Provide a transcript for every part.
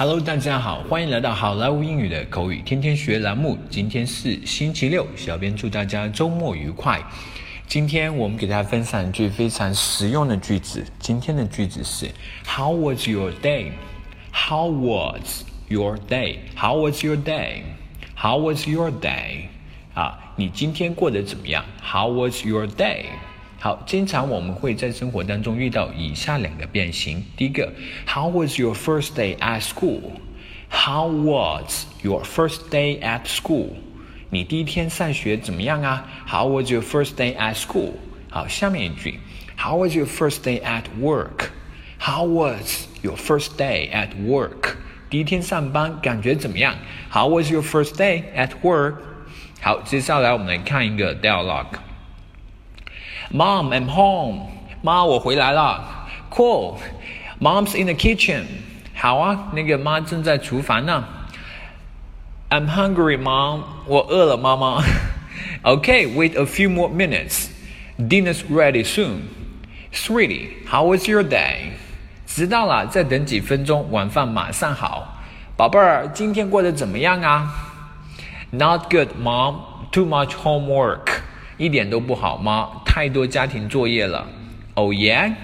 Hello， 大家好，欢迎来到好莱坞英语的口语天天学栏目。今天是星期六，小编祝大家周末愉快。今天我们给大家分享一句非常实用的句子。今天的句子是 How was your day? How was your day? How was your day? How was your day? 你今天过得怎么样？ How was your day?好，经常我们会在生活当中遇到以下两个变形。第一个 How was your first day at school? How was your first day at school? 你第一天上学怎么样啊？ How was your first day at school? 好，下面一句 How was your first day at work? How was your first day at work? 第一天上班感觉怎么样？ How was your first day at work? 好，接下来我们来看一个 dialogue。Mom, I'm home. 妈，我回来了。Cool. Mom's in the kitchen. 好啊，那个妈正在厨房呢。I'm hungry, Mom. 我饿了，妈妈。Okay, wait a few more minutes. Dinner's ready soon. Sweetie, how was your day? 知道了，再等几分钟，晚饭马上好。宝贝儿，今天过得怎么样啊？ Not good, Mom. Too much homework.一点都不好吗？太多家庭作业了。Oh yeah?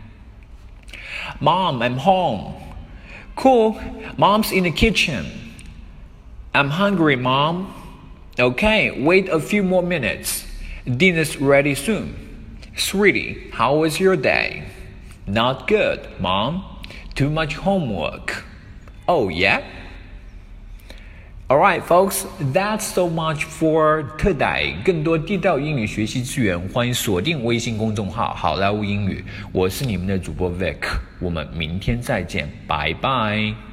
Mom, I'm home. Cool. Mom's in the kitchen. I'm hungry, Mom. Okay, wait a few more minutes. Dinner's ready soon. Sweetie, how was your day? Not good, Mom. Too much homework. Oh yeah?Alright, folks, that's so much for today. 更多地道英语学习资源，欢迎锁定微信公众号好莱坞英语。我是你们的主播 Vic， 我们明天再见，拜拜。